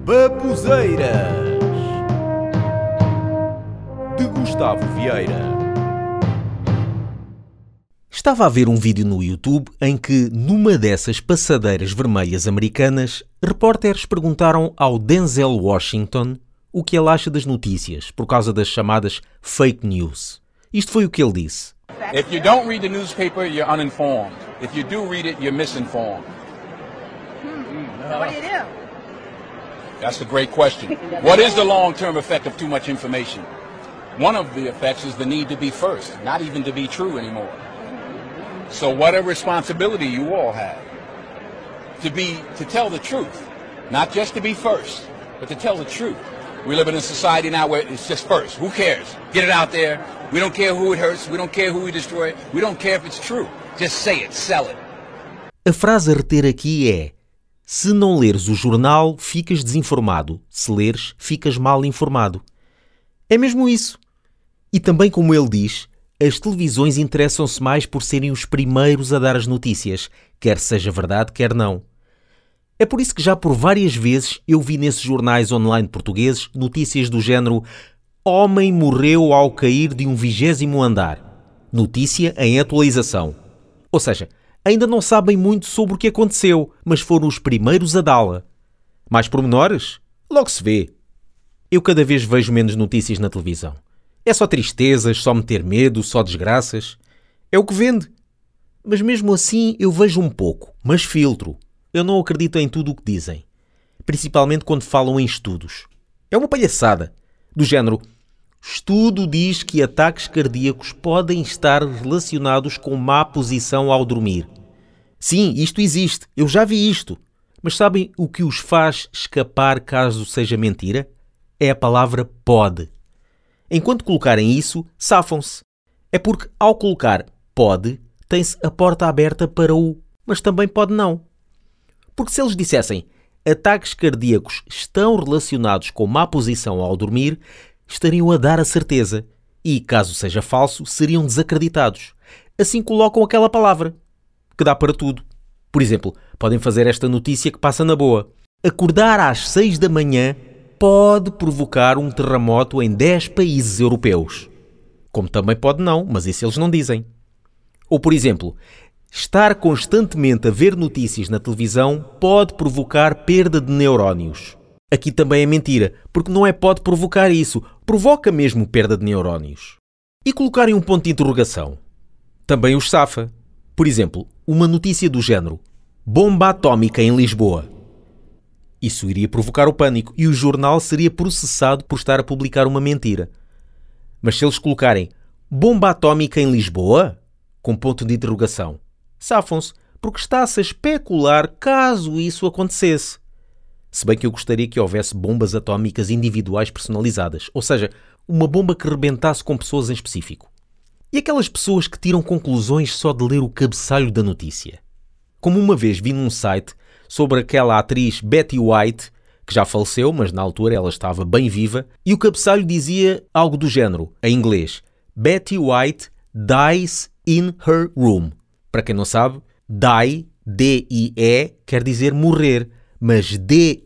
Babuzeiras de Gustavo Vieira. Estava a ver um vídeo no YouTube em que, numa dessas passadeiras vermelhas americanas, repórteres perguntaram ao Denzel Washington o que ele acha das notícias, por causa das chamadas fake news. Isto foi o que ele disse. If you don't read the newspaper, you're uninformed. If you do read it, you're misinformed. So what do you do? That's a great question. What is the long-term effect of too much information? One of the effects is the need to be first, not even to be true anymore. So what a responsibility you all have to tell the truth, not just to be first, but to tell the truth. We live in a society now where it's just first. Who cares? Get it out there. We don't care who it hurts. We don't care who we destroy. We don't care if it's true. Just say it, sell it. A frase a reter aqui é: se não leres o jornal, ficas desinformado. Se leres, ficas mal informado. É mesmo isso. E também, como ele diz, as televisões interessam-se mais por serem os primeiros a dar as notícias, quer seja verdade, quer não. É por isso que já por várias vezes eu vi nesses jornais online portugueses notícias do género: homem morreu ao cair de um 20º andar. Notícia em atualização. Ou seja, ainda não sabem muito sobre o que aconteceu, mas foram os primeiros a dá-la. Mais pormenores? Logo se vê. Eu cada vez vejo menos notícias na televisão. É só tristezas, só meter medo, só desgraças. É o que vende. Mas mesmo assim eu vejo um pouco, mas filtro. Eu não acredito em tudo o que dizem. Principalmente quando falam em estudos. É uma palhaçada. Do género: estudo diz que ataques cardíacos podem estar relacionados com má posição ao dormir. Sim, isto existe. Eu já vi isto. Mas sabem o que os faz escapar caso seja mentira? É a palavra pode. Enquanto colocarem isso, safam-se. É porque, ao colocar pode, tem-se a porta aberta para o mas também pode não. Porque se eles dissessem ataques cardíacos estão relacionados com má posição ao dormir, estariam a dar a certeza. E, caso seja falso, seriam desacreditados. Assim colocam aquela palavra, que dá para tudo. Por exemplo, podem fazer esta notícia que passa na boa: acordar às 6 da manhã pode provocar um terremoto em 10 países europeus. Como também pode não, mas isso eles não dizem. Ou, por exemplo, estar constantemente a ver notícias na televisão pode provocar perda de neurónios. Aqui também é mentira, porque não é pode provocar isso, provoca mesmo perda de neurónios. E colocarem um ponto de interrogação? Também os safa. Por exemplo, uma notícia do género: bomba atómica em Lisboa. Isso iria provocar o pânico e o jornal seria processado por estar a publicar uma mentira. Mas se eles colocarem bomba atómica em Lisboa, com ponto de interrogação, safam-se, porque está-se a especular caso isso acontecesse. Se bem que eu gostaria que houvesse bombas atómicas individuais personalizadas, ou seja, uma bomba que rebentasse com pessoas em específico. E aquelas pessoas que tiram conclusões só de ler o cabeçalho da notícia? Como uma vez vi num site sobre aquela atriz Betty White, que já faleceu, mas na altura ela estava bem viva, e o cabeçalho dizia algo do género, em inglês: Betty White dies in her room. Para quem não sabe, die, D-I-E, quer dizer morrer, mas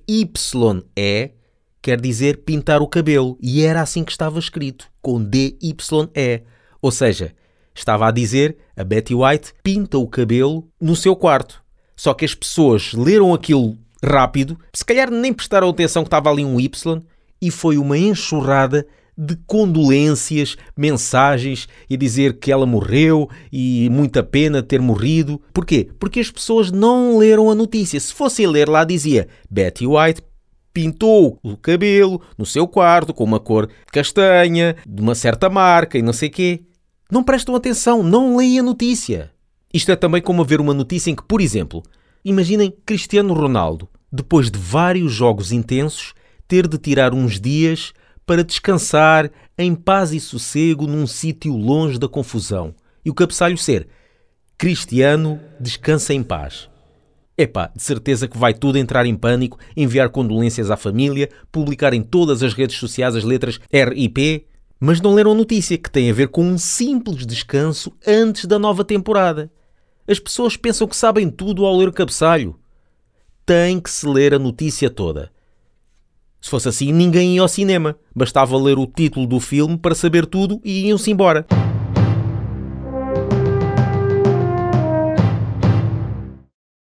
D-Y-E quer dizer pintar o cabelo, e era assim que estava escrito, com D-Y-E. Ou seja, estava a dizer: a Betty White pinta o cabelo no seu quarto. Só que as pessoas leram aquilo rápido, se calhar nem prestaram atenção que estava ali um Y, e foi uma enxurrada de condolências, mensagens e dizer que ela morreu e muita pena ter morrido. Porquê? Porque as pessoas não leram a notícia. Se fossem ler, lá dizia: Betty White pintou o cabelo no seu quarto com uma cor castanha, de uma certa marca e não sei quê. Não prestam atenção, não leem a notícia. Isto é também como ver uma notícia em que, por exemplo, imaginem Cristiano Ronaldo, depois de vários jogos intensos, ter de tirar uns dias para descansar em paz e sossego num sítio longe da confusão. E o cabeçalho ser: Cristiano descansa em paz. Epá, de certeza que vai tudo entrar em pânico, enviar condolências à família, publicar em todas as redes sociais as letras RIP, mas não leram a notícia, que tem a ver com um simples descanso antes da nova temporada. As pessoas pensam que sabem tudo ao ler o cabeçalho. Tem que se ler a notícia toda. Se fosse assim, ninguém ia ao cinema. Bastava ler o título do filme para saber tudo e iam-se embora.